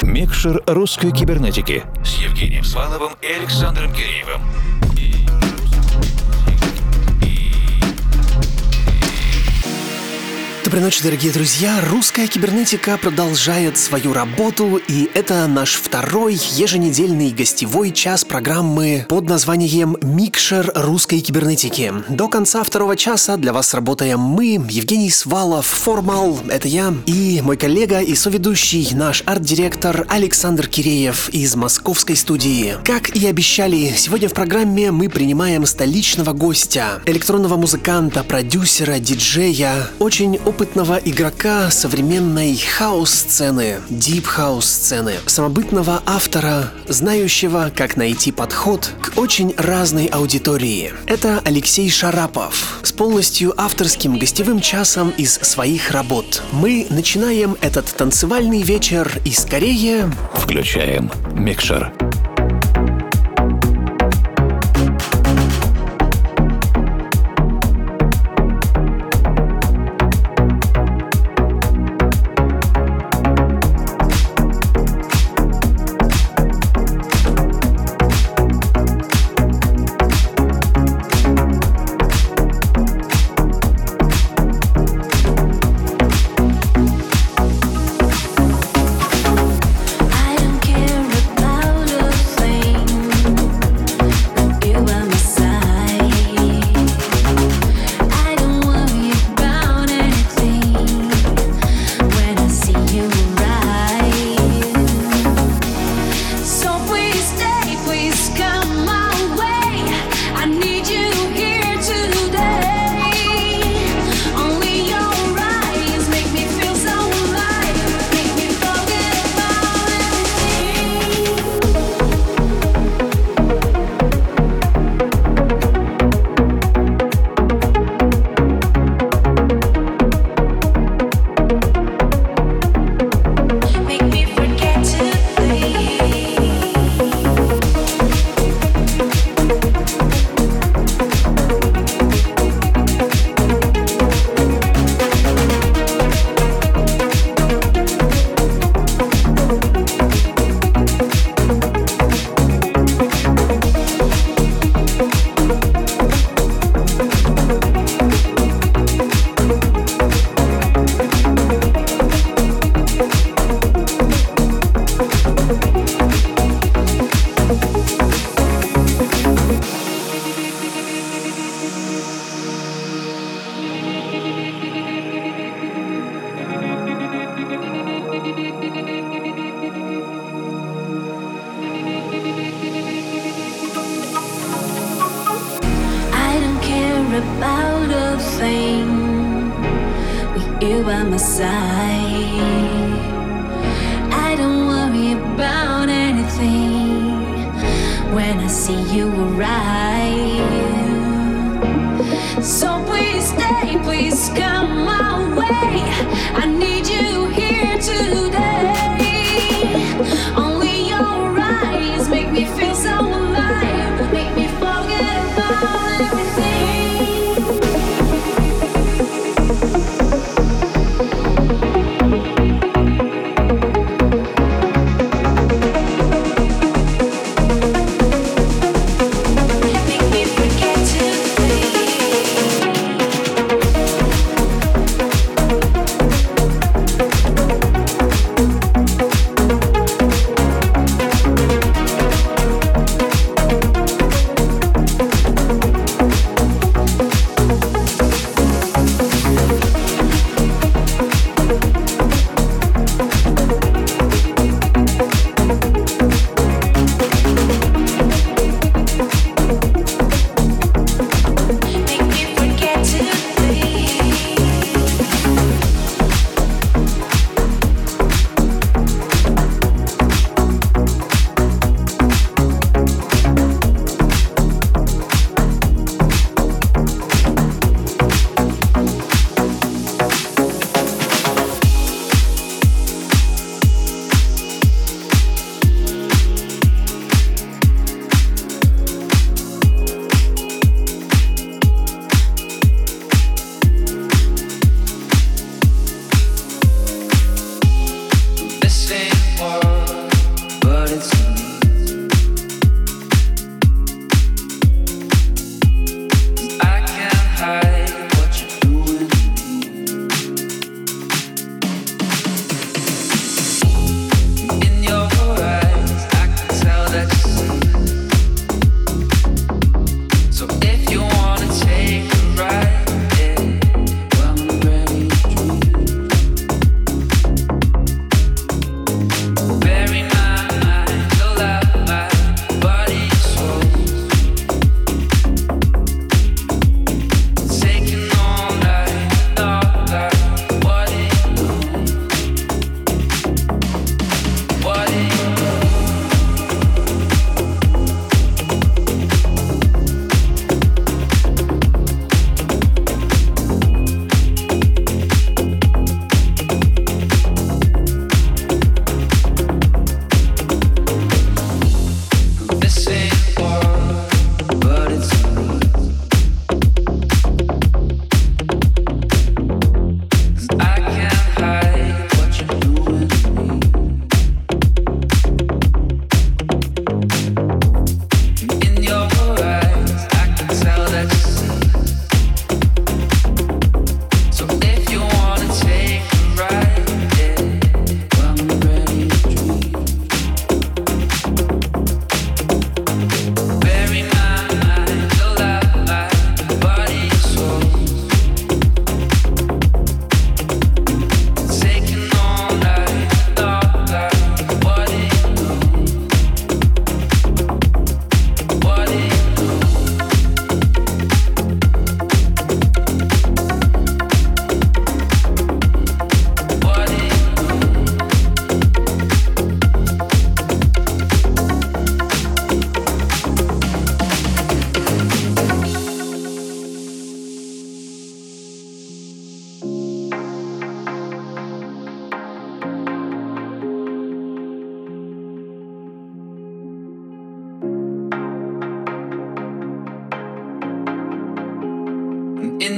Микшер русской кибернетики с Евгением Сваловым и Александром Киреевым. Доброй ночи, дорогие друзья! Русская кибернетика продолжает свою работу, и это наш второй еженедельный гостевой час программы под названием «Микшер русской кибернетики». До конца второго часа для вас работаем мы, Евгений Свалов, Формал, это я, и мой коллега и соведущий, наш арт-директор Александр Киреев из московской студии. Как и обещали, сегодня в программе мы принимаем столичного гостя, электронного музыканта, продюсера, диджея, очень опытного игрока современной хаус-сцены, дип-хаус-сцены, самобытного автора, знающего, как найти подход к очень разной аудитории. Это Алексей Шарапов с полностью авторским гостевым часом из своих работ. Мы начинаем этот танцевальный вечер и скорее... Включаем микшер. About a thing with you by my side. I don't worry about anything when I see you arrive. So please stay, please come my way. I need you here today. Only your eyes make me feel so alive, make me forget about everything.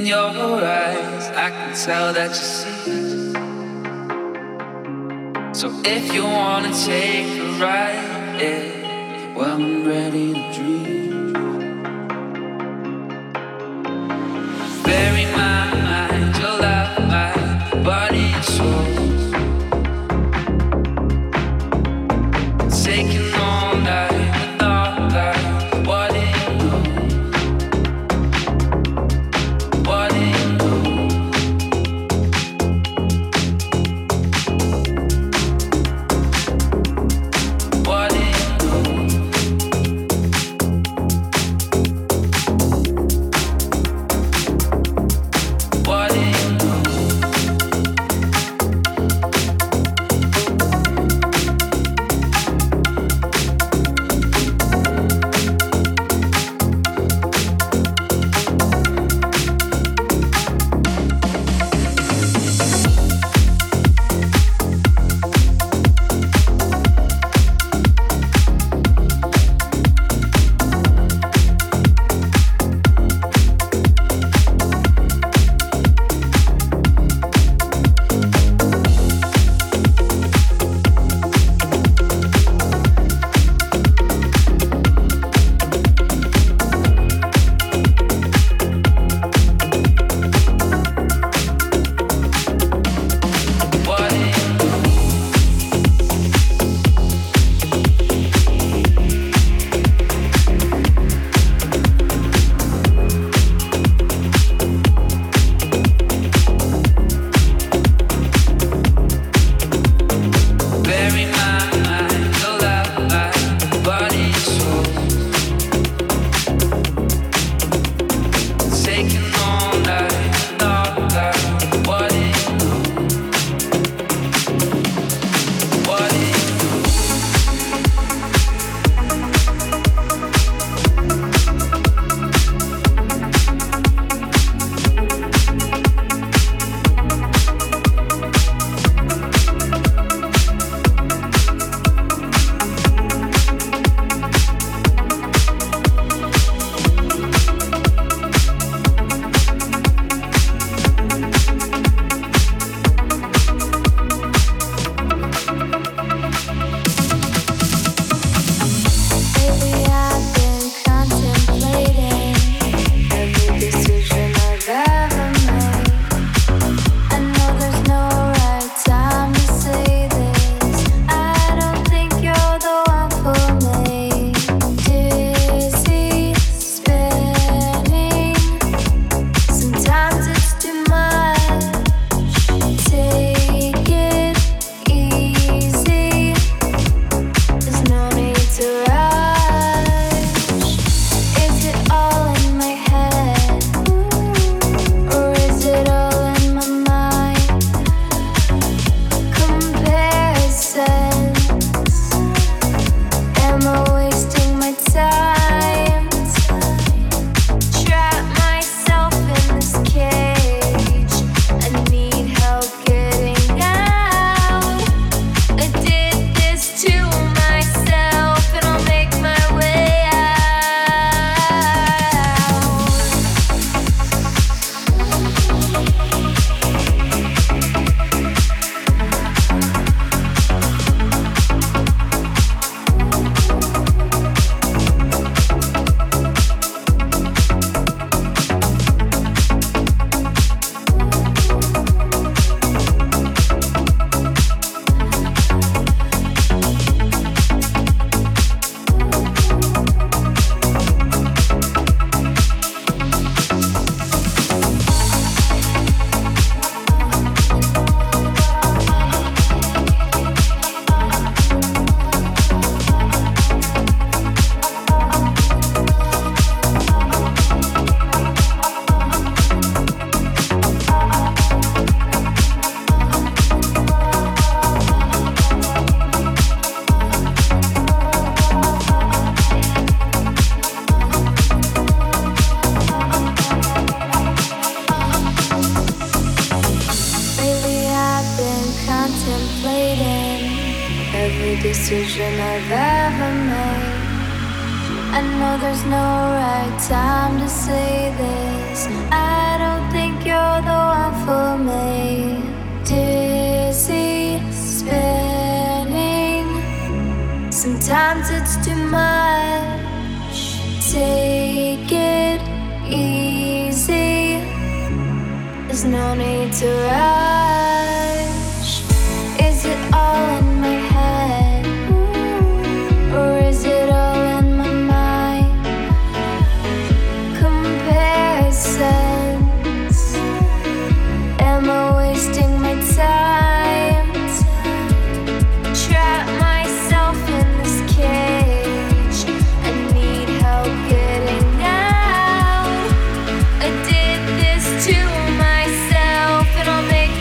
in your eyes, I can tell that you see. So if you wanna take a ride, yeah, well, I'm ready to dream. Bury my mind, your love, my body and soul. Taking all night with all night. What do you know? What do you know? What do you know? What do you know? decision I've ever made. I know there's no right time to say this. I don't think you're the one for me. Dizzy, spinning. Sometimes it's too much. Take it easy. There's no need to rush. Is it all in my head? Or is it all in my mind? Comparisons. Am I wasting my time? Trap myself in this cage. I need help getting out. I did this to myself, and I'll make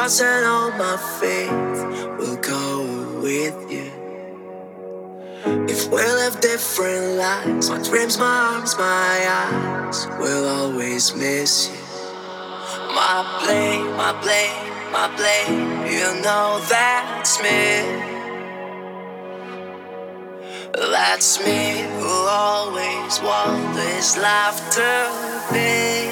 thoughts and all my faith will go with you. If we live different lives, my dreams, my arms, my eyes will always miss you. My blame, my blame, my blame, you know that's me. That's me who always want this life to be.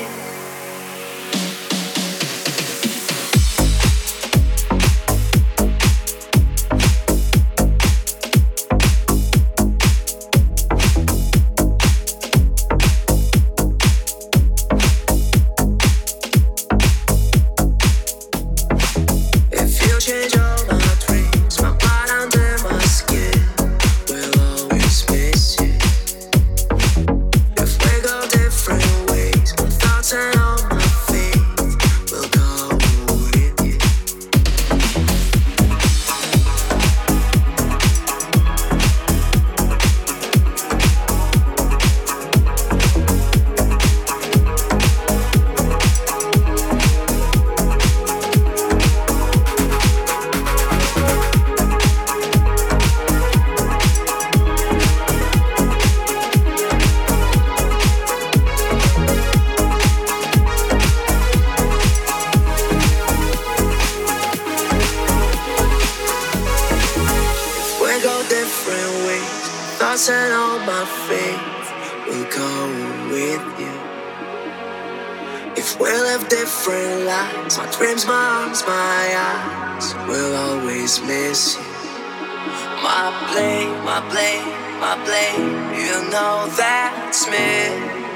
And all my faith will go with you. If we live different lives, my dreams, my arms, my eyes will always miss you. My blame, my blame, my blame, you know that's me.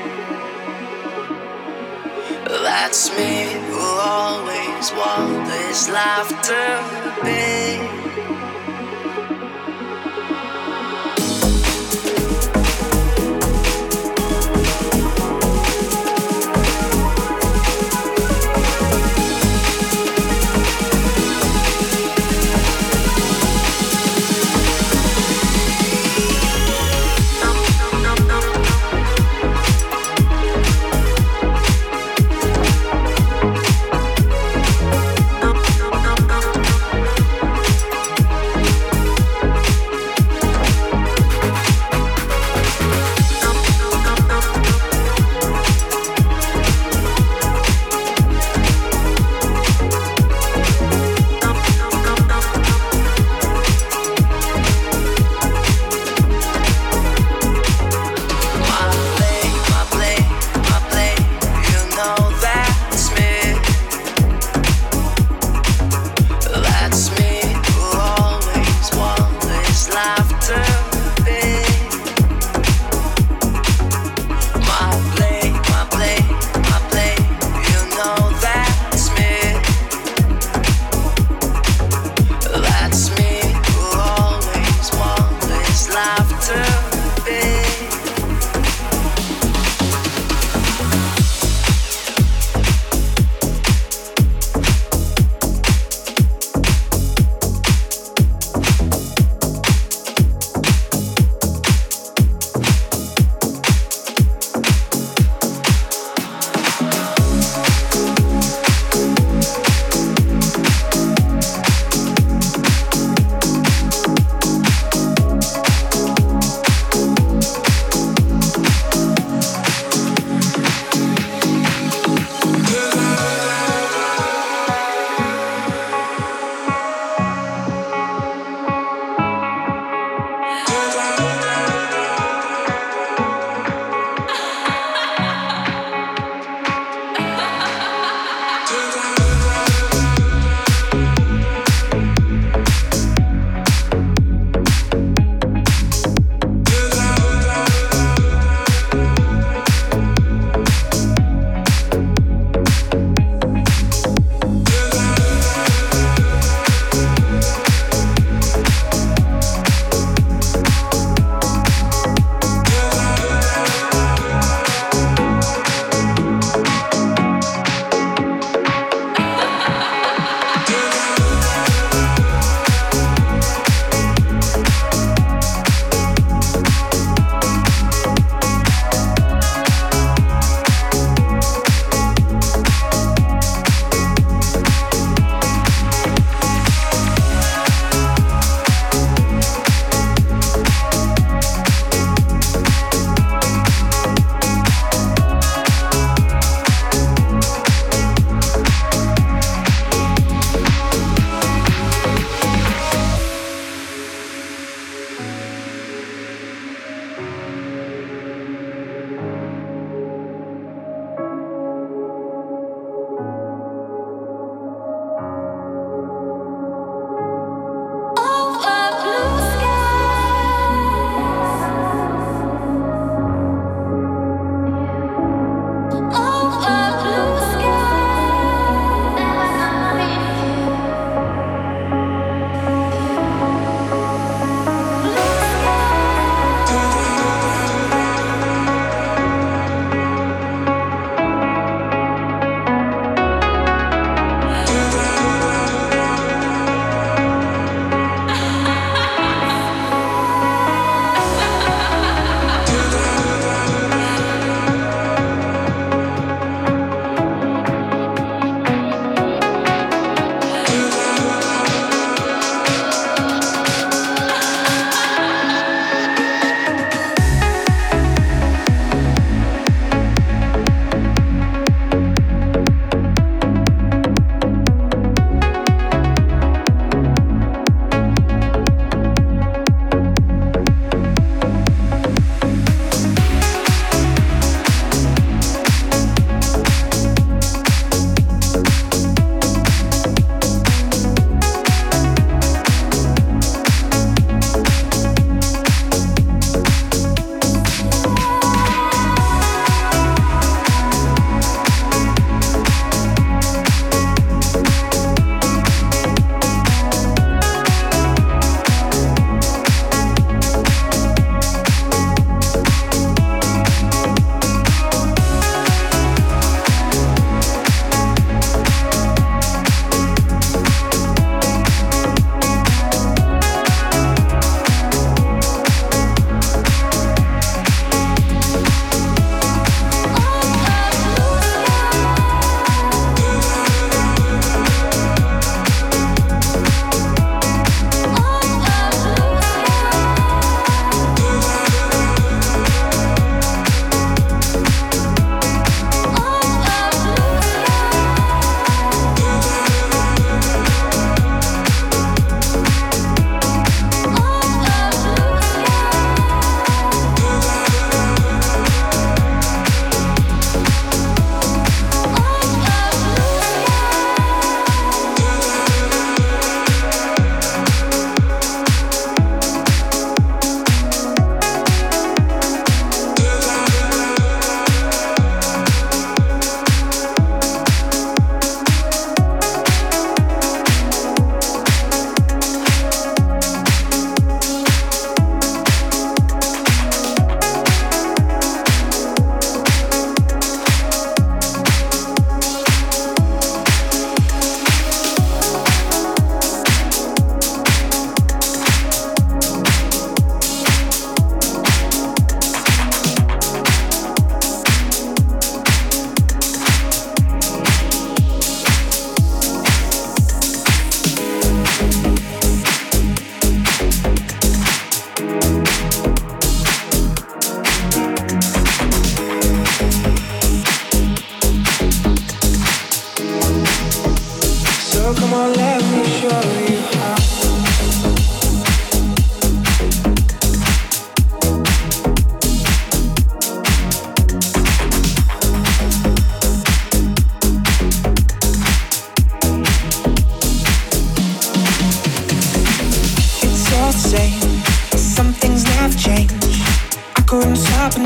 That's me who always want this life to be.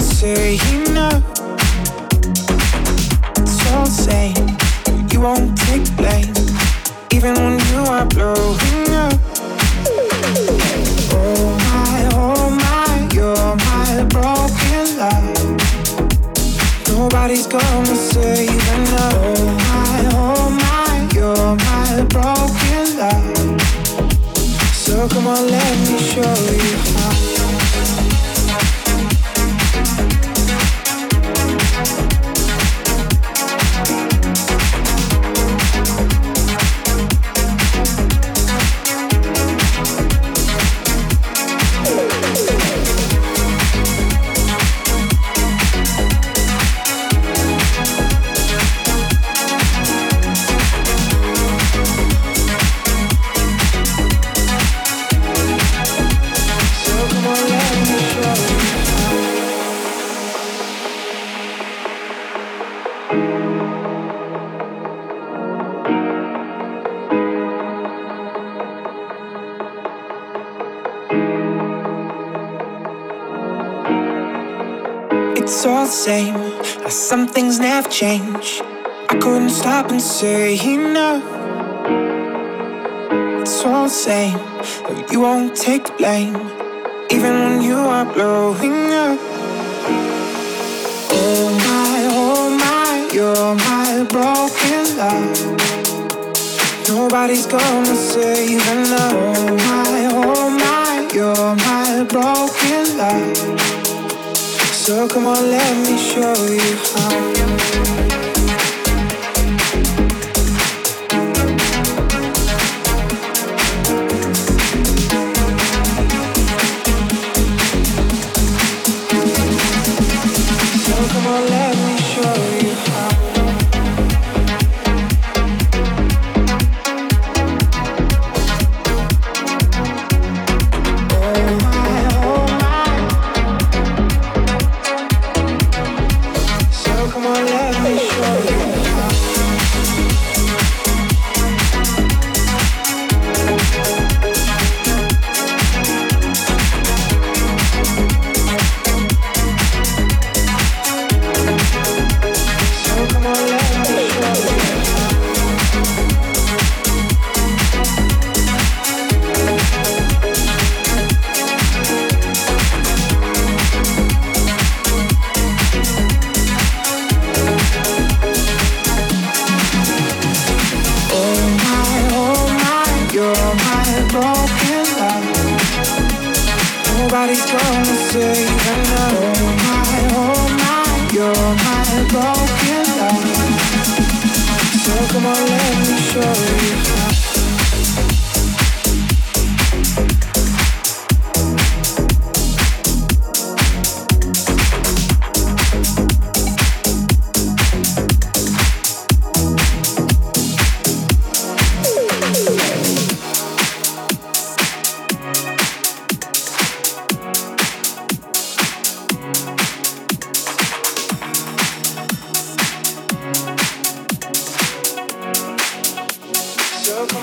say enough. It's all the same. You won't take blame, even when you are blowing up. Oh my, you're my broken love. Nobody's gonna save enough. Oh my, you're my broken love. So come on, let me show you how. It's all the same, some things never change. I couldn't stop and say enough. It's all the same, you won't take the blame, even when you are blowing up. Oh my, you're my broken love. Nobody's gonna save enough. Oh my, you're my broken love. So come on, let me show you how. Nobody's gonna save enough. Oh my, you're my broken love. So come on, let me show you how. So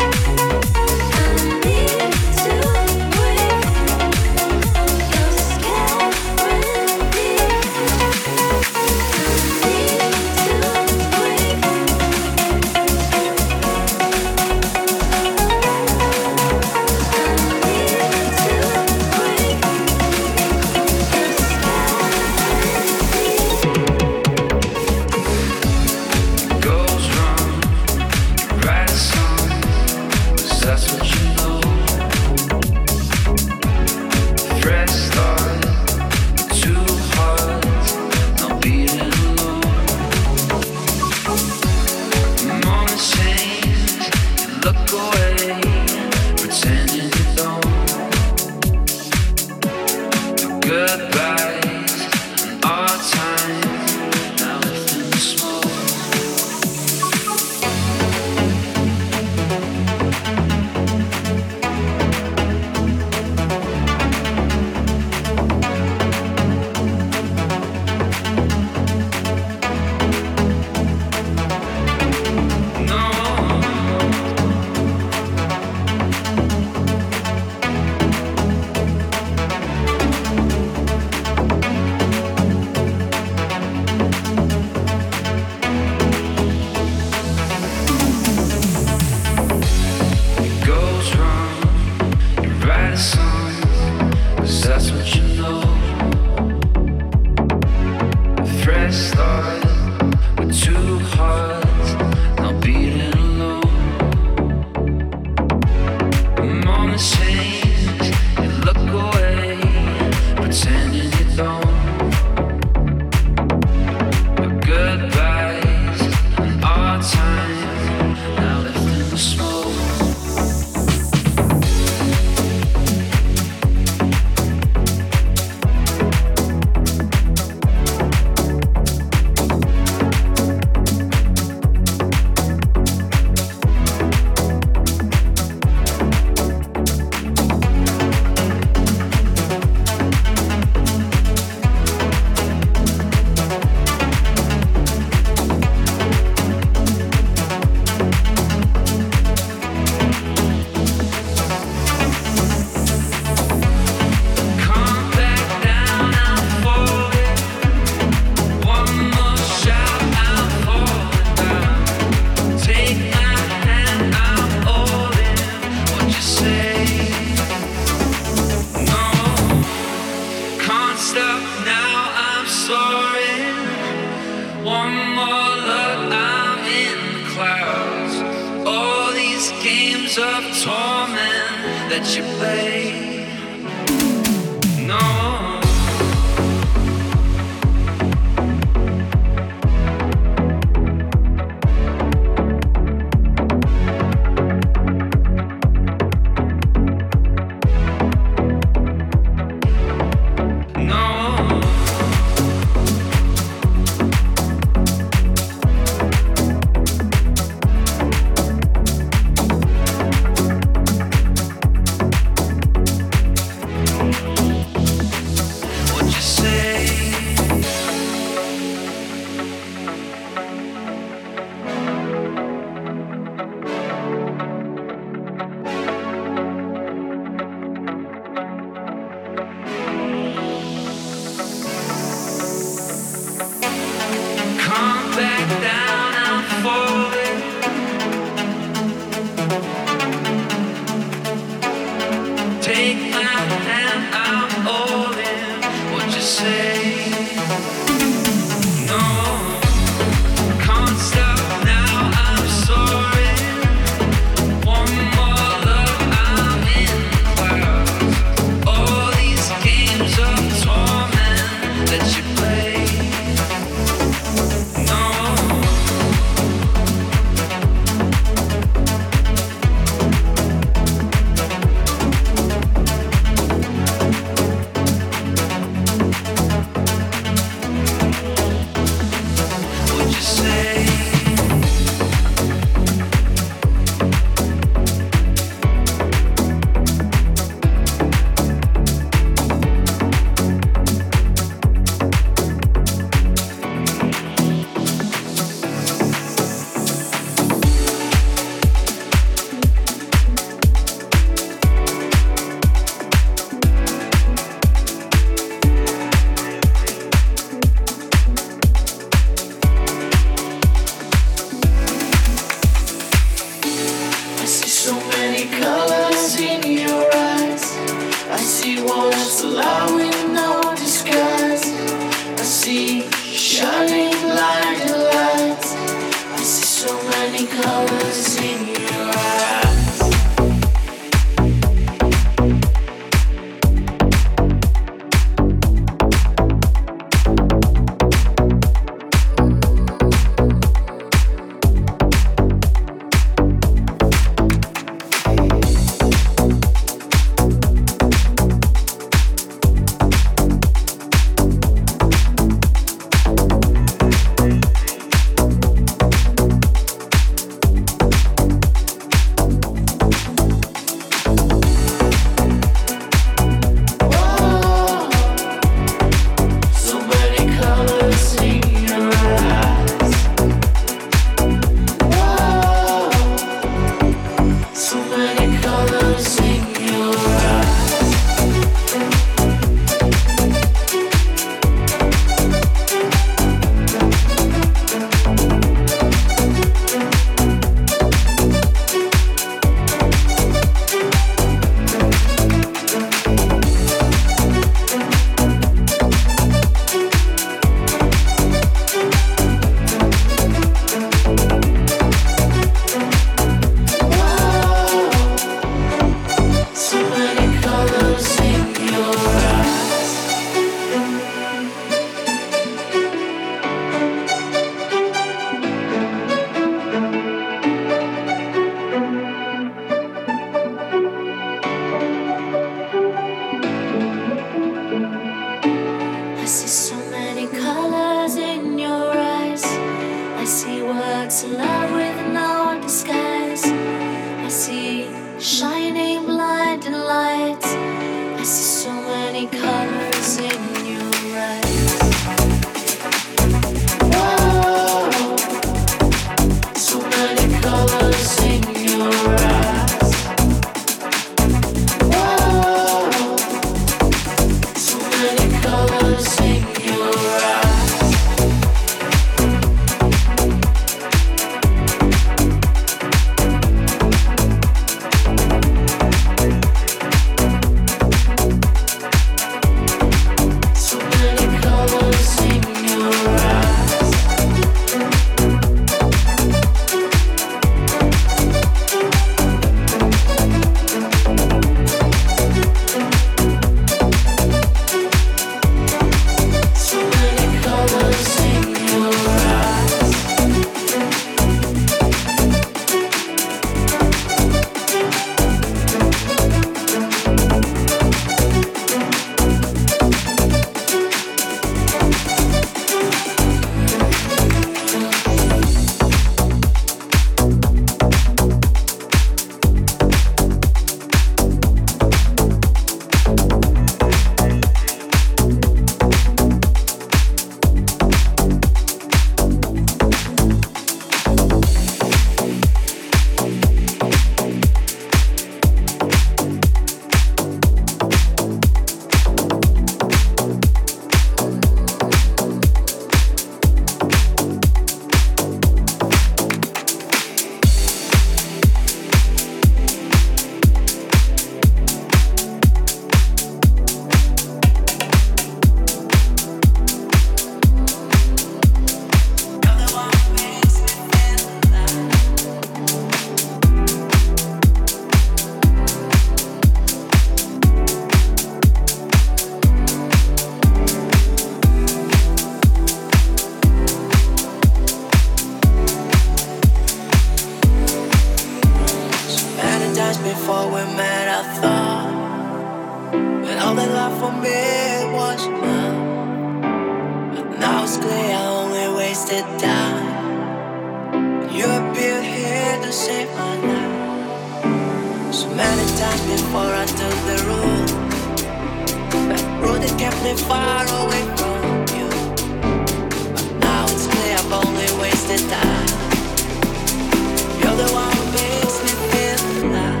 met, I thought that all that love for me was love. But now it's clear I only wasted time. You appeared here to save my life. So many times before I took the road, that road that kept me far away from you. But now it's clear I've only wasted time. You're the one who makes me feel alive.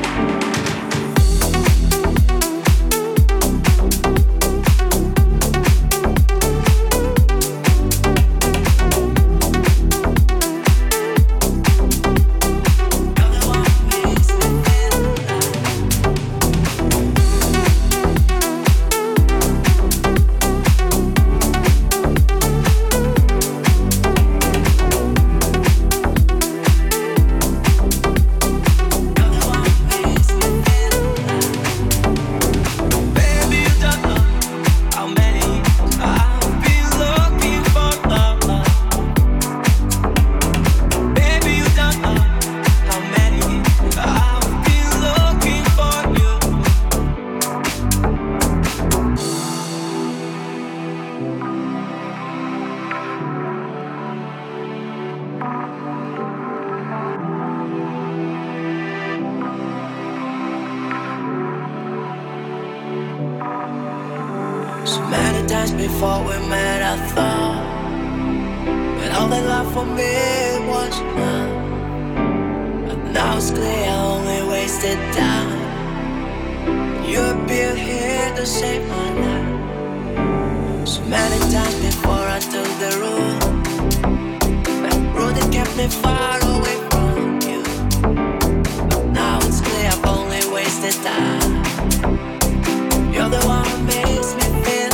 Before we met, I thought that all that love for me was love. But now it's clear I only wasted time. You appeared here to save my life. So many times before I took the road, that road that kept me far away from you. But now it's clear I've only wasted time. You're the one who makes me feel.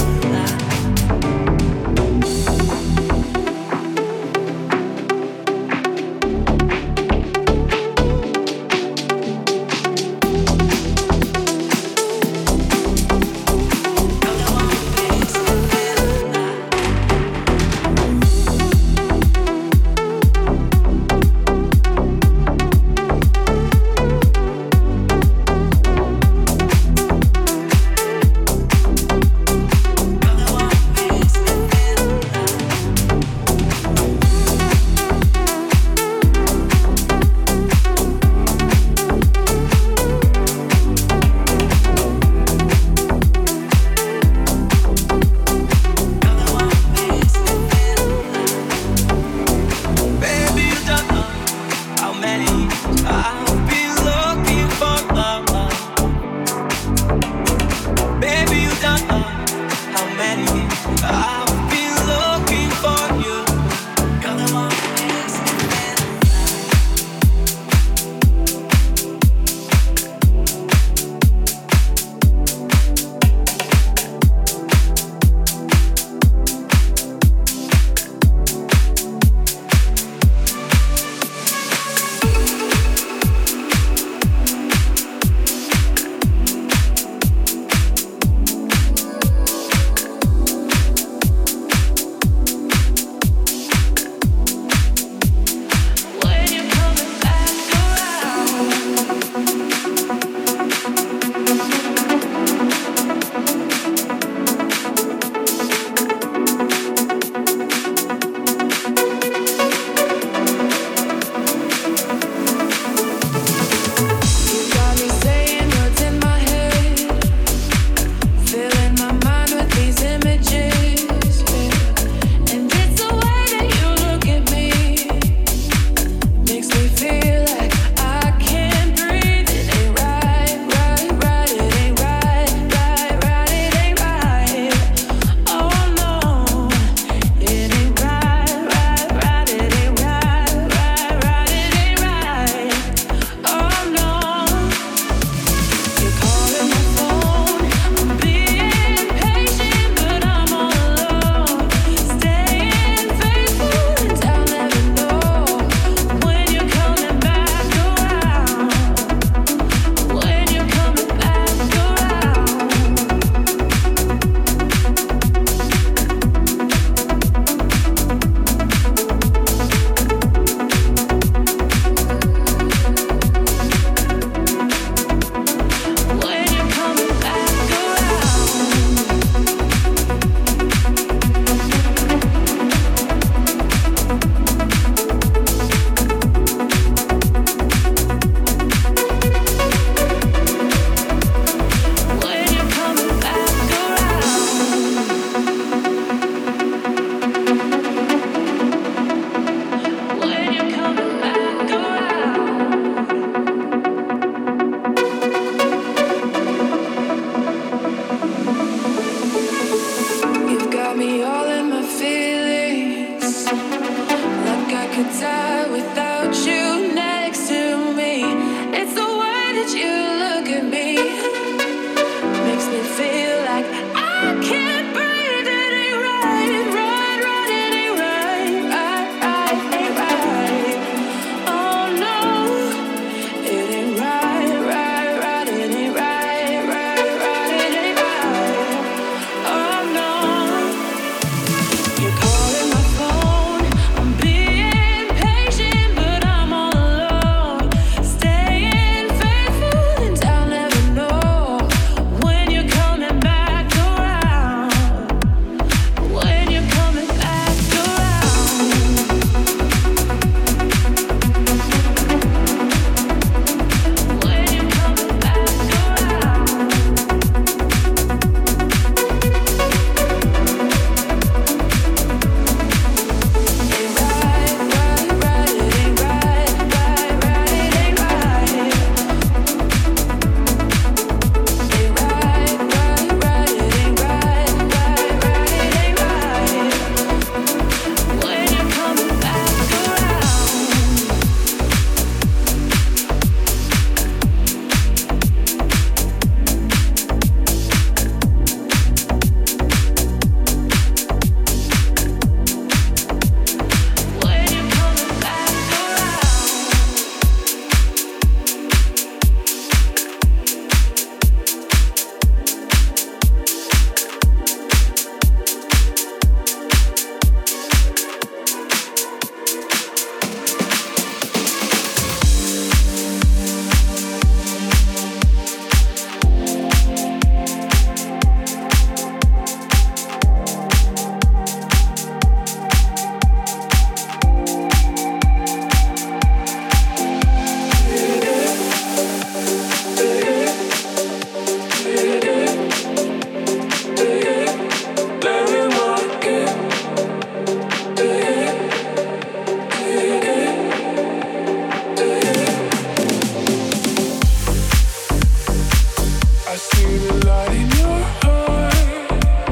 see the light in your heart.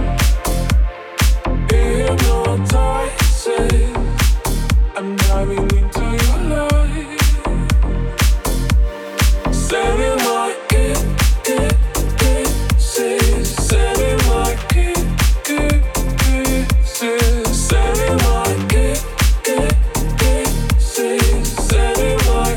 Hypnotizing. I'm diving into your light. Setting my kisses. Setting my kisses. Setting my kisses. Setting my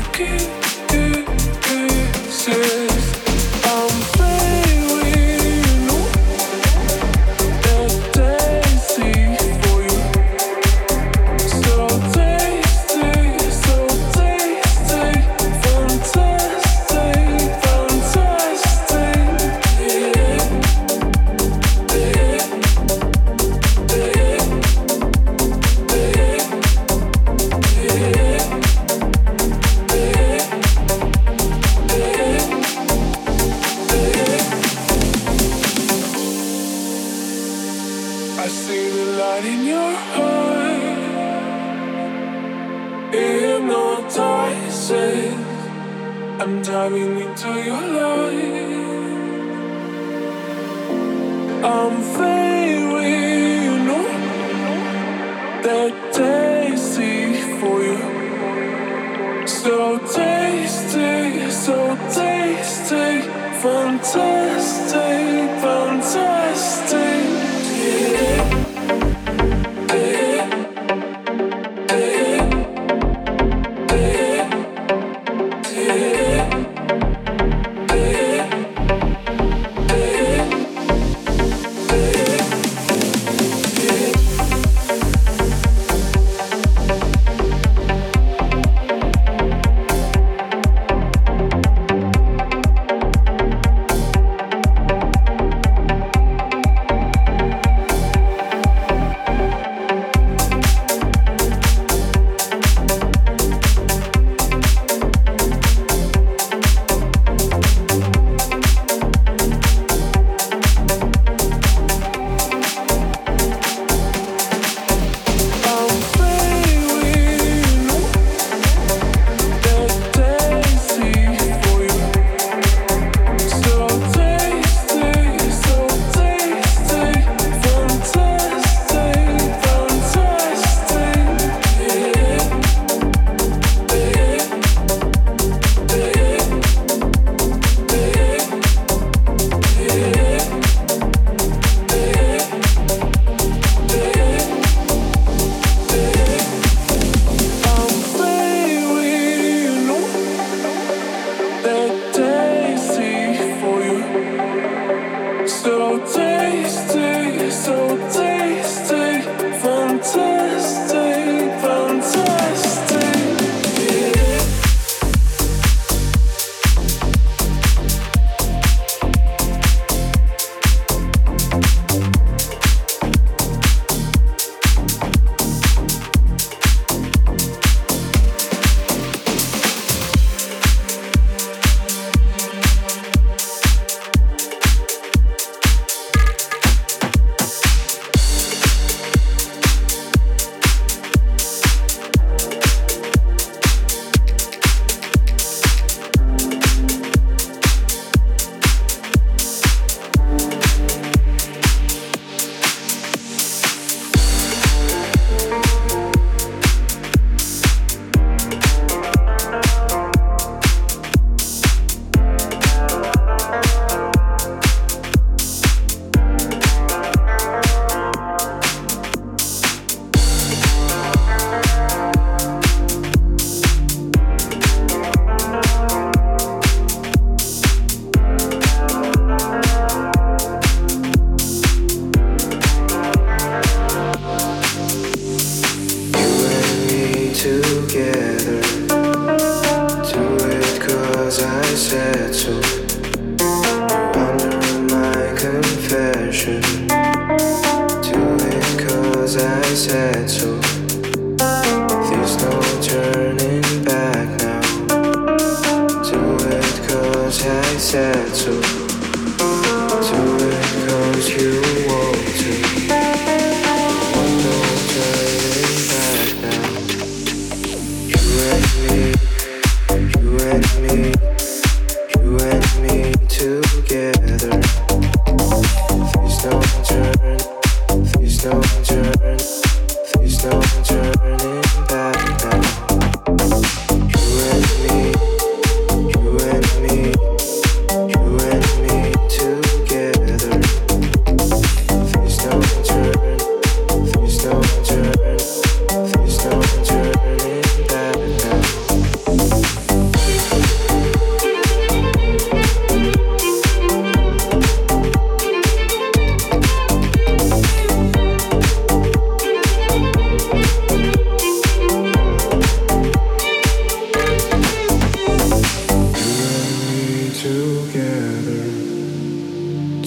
kisses. I'm playing with you. That tasty for you. So tasty, so tasty. Fantastic, fantastic. I see the light in your heart. Hypnotizing. I'm diving into your light. I'm fading with you know that tasty for you. So tasty, so tasty. Fantastic, fantastic. You and me together.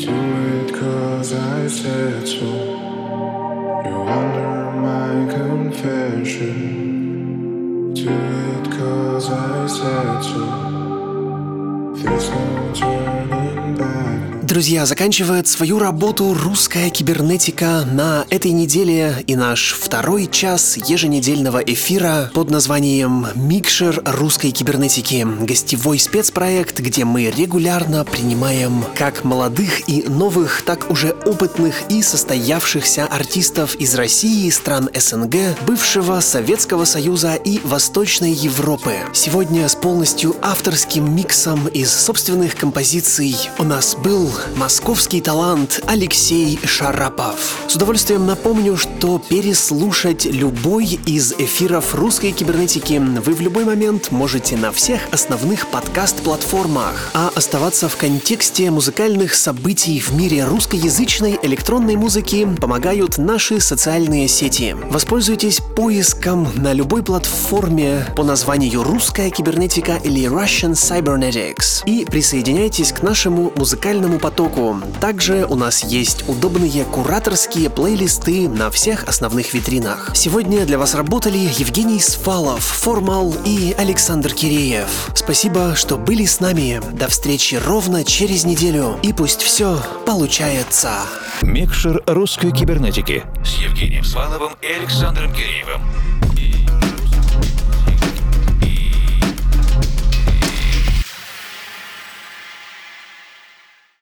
Do it 'cause I said so. You wonder my confession. Do it 'cause I said so. There's no turning back. Друзья, заканчивает свою работу русская кибернетика на этой неделе и наш второй час еженедельного эфира под названием «Микшер русской кибернетики». Гостевой спецпроект, где мы регулярно принимаем как молодых и новых, так уже опытных и состоявшихся артистов из России, стран СНГ, бывшего Советского Союза и Восточной Европы. Сегодня с полностью авторским миксом из собственных композиций у нас был московский талант Алексей Шарапов. С удовольствием напомню, что переслушать любой из эфиров русской кибернетики вы в любой момент можете на всех основных подкаст-платформах, а оставаться в контексте музыкальных событий в мире русскоязычной электронной музыки помогают наши социальные сети. Воспользуйтесь поиском на любой платформе по названию «Русская кибернетика» или «Russian Cybernetics» и присоединяйтесь к нашему музыкальному потоку. Также у нас есть удобные кураторские плейлисты на всех основных витринах. Сегодня для вас работали Евгений Свалов, Формал и Александр Киреев. Спасибо, что были с нами. До встречи ровно через неделю. И пусть все получается. Микшер русской кибернетики с Евгением Сваловым и Александром Киреевым.